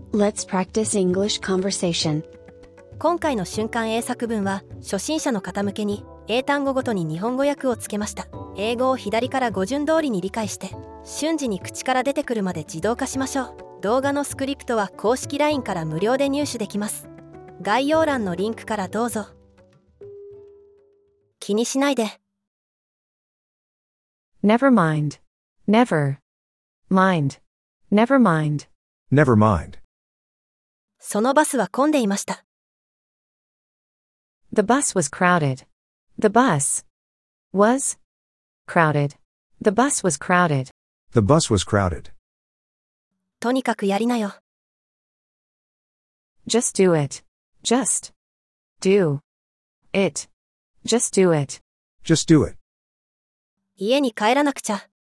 Let's practice English conversation. 今回の瞬間英作文は初心者の方向けに英単語ごとに日本語訳をつけました。英語を左から語順通りに理解して瞬時に口から出てくるまで自動化しましょう。動画のスクリプトは公式 LINE から無料で入手できます。概要欄のリンクからどうぞ。気にしないで。 Never mind. Never. Mind. Never mind. Never mind. そのバスは混んでいました。 The bus was crowded. The bus was crowded. The bus was crowded. The bus was crowded. とにかくやりなよ。 Just do it. Just do it. Just do it. Just do it. 家に帰らなくちゃ。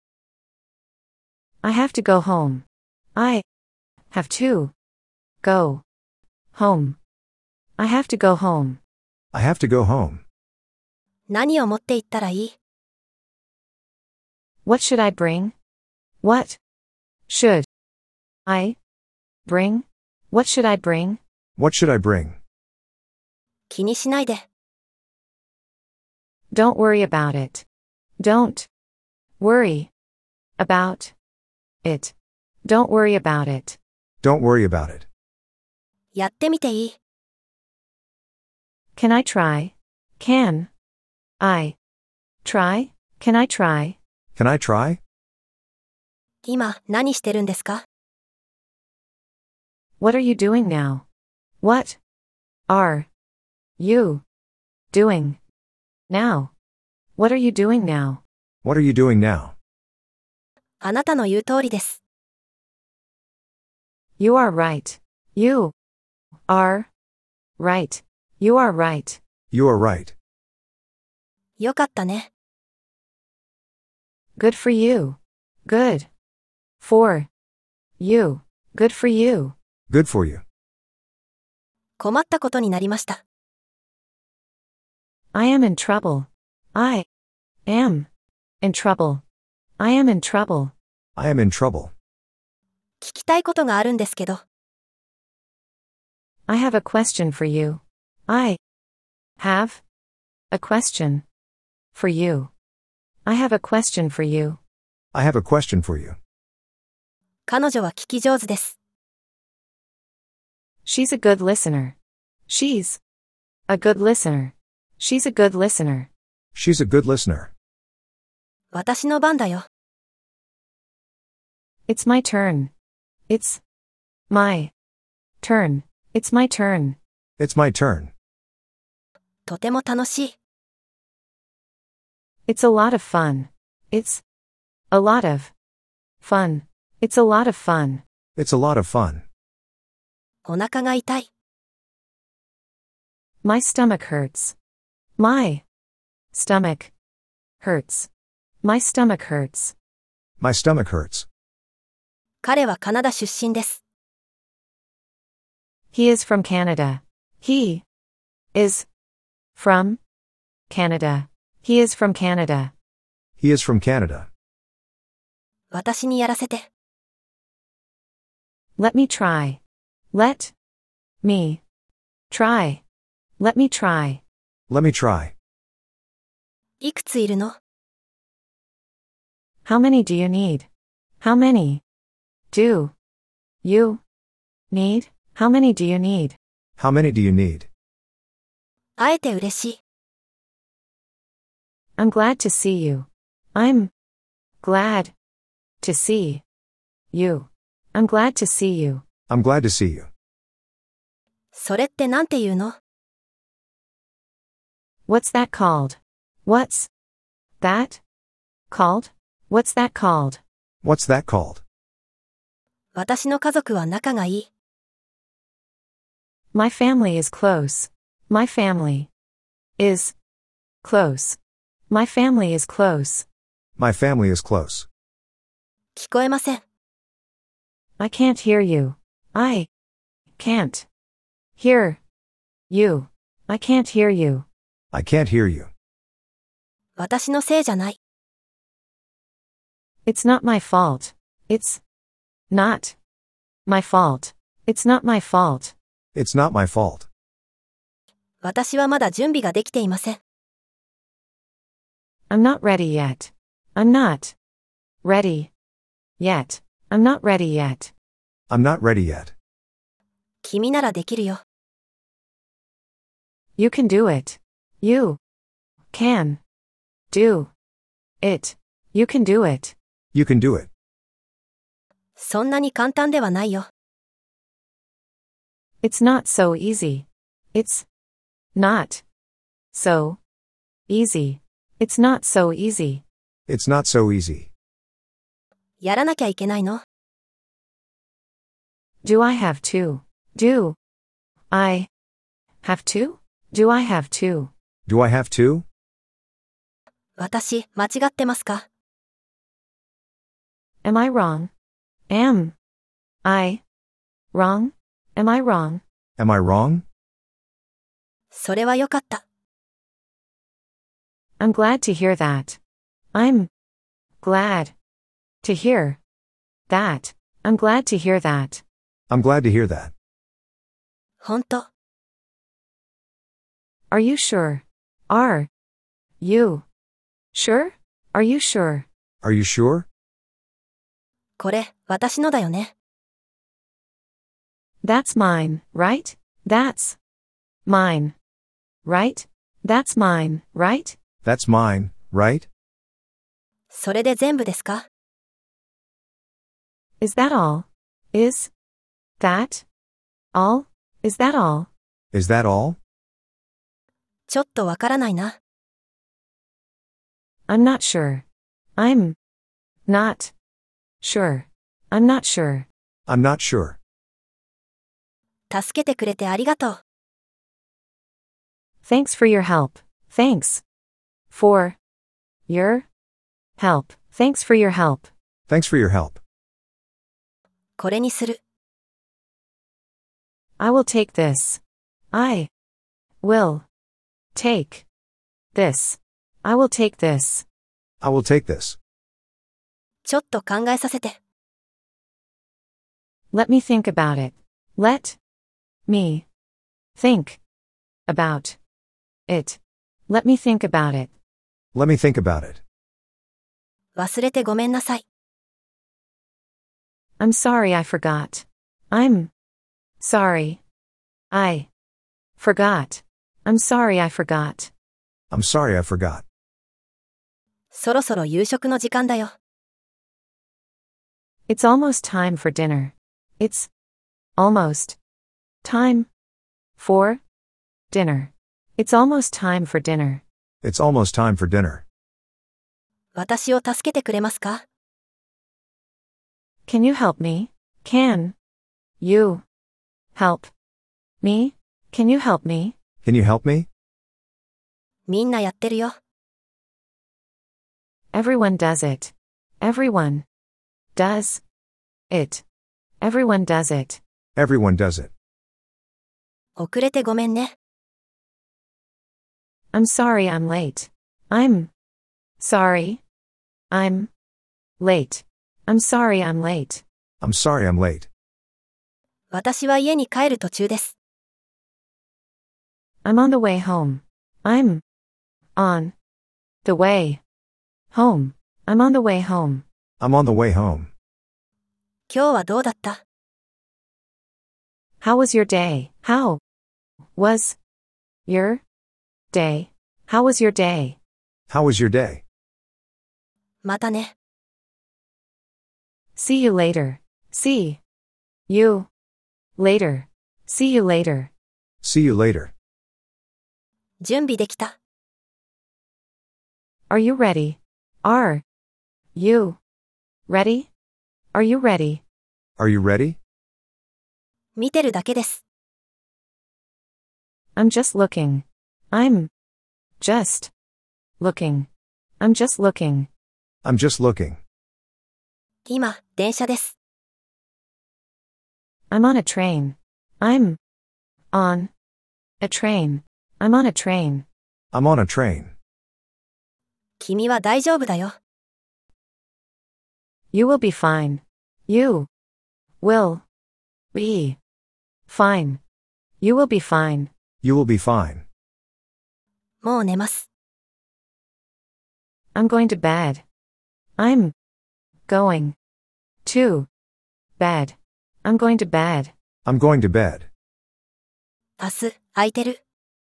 I have to go home. I have to go home. I have to go home. I have to go home. 何を持って行ったらいい？ What should I bring? What should I bring? What should I bring? What should I bring? 気にしないで。 Don't worry about it. Don't worry about it. Don't worry about it. Don't worry about it. やってみていい？ Can I try? Can I try? Can I try? Can I try? 今何してるんですか？ What are you doing now? What are you doing now? What are you doing now? What are you doing now? あなたの言う通りです。 You are right. You are right. You are right. You are right. よかったね。 Good for you. Good for you. Good for you. Good for you. 困ったことになりました。 I am in trouble. I am in trouble. I am in trouble. I am in trouble. 聞きたいことがあるんですけど。 I have a question for you. I have a question for you. I have a question for you. I have a question for you. 彼女は聞き上手です。 She's a good listener. She's a good listener. She's a good listener. She's a good listener. 私の番だよ。 It's my turn. It's my turn. It's my turn. It's my turn. とても楽しい。 It's a lot of fun. It's a lot of fun. It's a lot of fun. It's a lot of fun. お腹が痛い。 My stomach hurts. My stomach hurts. My stomach hurts. My stomach hurts. 彼はカナダ出身です。 He is from Canada. He is from Canada. He is from Canada. He is from Canada. 私にやらせて。 Let me try. Let me try. Let me try. Let me try. いくついるの？ How many do you need? How many do you need? How many do you need? How many do you need? 会えて嬉しい。 I'm glad to see you. I'm glad to see you. I'm glad to see you. I'm glad to see you. それってなんて言うの？ What's that called? What's that called? What's that called? What's that called? 私の家族は仲がいい。 My family is close. My family is close. My family is close. My family is close. 聞こえません。 I can't hear you. I can't hear you. I can't hear you. I can't hear you. 私のせいじゃない。 It's not my fault. It's not my fault. It's not my fault. It's not my fault. 私はまだ準備ができていません。 I'm not ready yet. I'm not ready yet. I'm not ready yet. I'm not ready yet. 君ならできるよ。 You can do it. You can do it. You can do it. You can do it. そんなに簡単ではないよ。 It's not so easy. It's not so easy. It's not so easy. It's not so easy. やらなきゃいけないの？ Do I have to? Do I have to? Do I have to? Do I have to? 私、間違ってますか？ Am I wrong? Am I wrong? Am I wrong? Am I wrong? それはよかった。 I'm glad to hear that. I'm glad to hear that. I'm glad to hear that. I'm glad to hear that. ほんと。 Are you sure? Are you sure? Are you sure? Are you sure? これ、私のだよね。 That's mine, right? That's mine, right? That's mine, right? That's mine, right? それで全部ですか？ Is that all? Is that all? Is that all? Is that all? ちょっとわからないな。 I'm not sure. I'm not sure. I'm not sure. I'm not sure. 助けてくれてありがとう。 Thanks for your help. Thanks for your help. Thanks for your help. Thanks for your help. これにする。 I will take this. I will take this. I will take this. I will take this. ちょっと考えさせて。 Let me think about it. Let me think about it. Let me think about it. Let me think about it. 忘れてごめんなさい。 I'm sorry I forgot. I'm sorry. I forgot. I'm sorry I forgot. I'm sorry I forgot. そろそろ夕食の時間だよ。 It's almost time for dinner. It's almost time for dinner. It's almost time for dinner. It's almost time for dinner. 私を助けてくれますか？ Can you help me? Can you help me? Can you help me? Can you help me? みんなやってるよ。 Everyone does it. Everyone does it. Everyone does it. Everyone does it. 遅れてごめんね。 I'm sorry I'm late. I'm sorry. I'm late. I'm sorry I'm late. I'm sorry I'm late. 私は家に帰る途中です。 I'm on the way home. I'm on the way home. I'm on the way home. I'm on the way home. 今日はどうだった？ How was your day? How was your day? How was your day? How was your day? またね。 See you later. See you later. See you later. See you later. 準備できた。 Are you ready? Are you ready? Are you ready? Are you ready? 見てるだけです。 I'm just looking. I'm just looking. I'm just looking. I'm just looking. 今、電車です。 I'm on a train. I'm on a train. I'm on a train. I'm on a train. 君は大丈夫だよ。 You will be fine. You will be Fine. You will be fine. You will be fine. もう寝ます。 I'm going to bed. I'm going to bed. I'm going to bed. I'm going to bed. 明日、空いてる？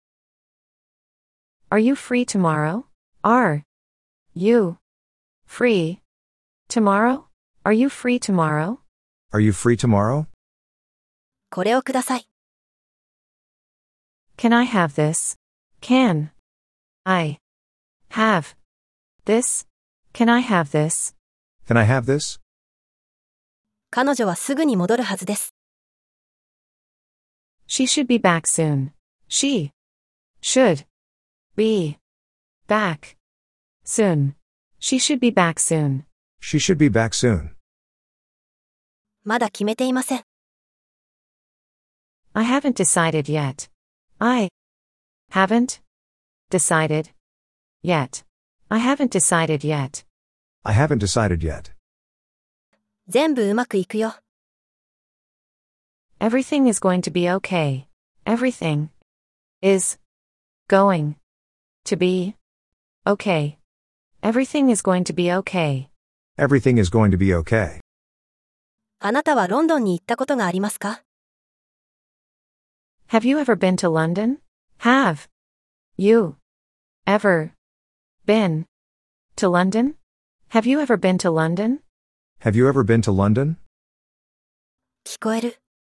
Are you free tomorrow? Are you free tomorrow? Are you free tomorrow? Are you free tomorrow? これをください。 Can I have this? Can I have this? Can I have this? Can I have this? 彼女はすぐに戻るはずです。 She should be back soon. She should be back soon. She should be back soon. She should be back soon. まだ決めていません。 I haven't decided yet. I haven't decided yet. I haven't decided yet. I haven't decided yet. 全部うまくいくよ。 Everything is going to be okay. Everything is going to be okay. Everything is going to be okay. Everything is going to be okay. あなたはロンドンに行ったことがありますか？ Have you ever been to London? Have you ever been to London? Have you ever been to London? Have you ever been to London? 聞こえる。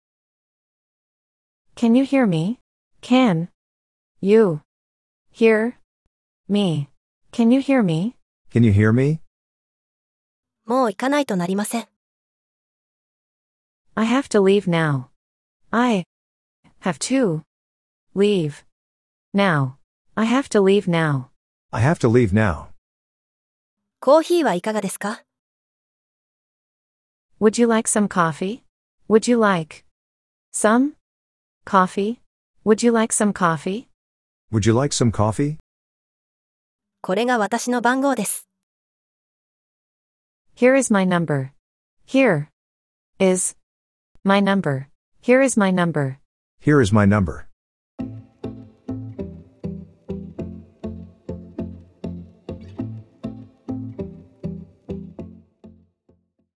Can you hear me? Can you hear me? Can you hear me? Can you hear me? もう行かないとなりません。 I have to leave now. I have to leave now. I have to leave now. I have to leave now. コーヒーはいかがですか？ Would you like some coffee? Would you like some coffee? Would you like some coffee? Would you like some coffee? これが私の番号です。 Here is my number. Here is my number. Here is my number. Here is my number.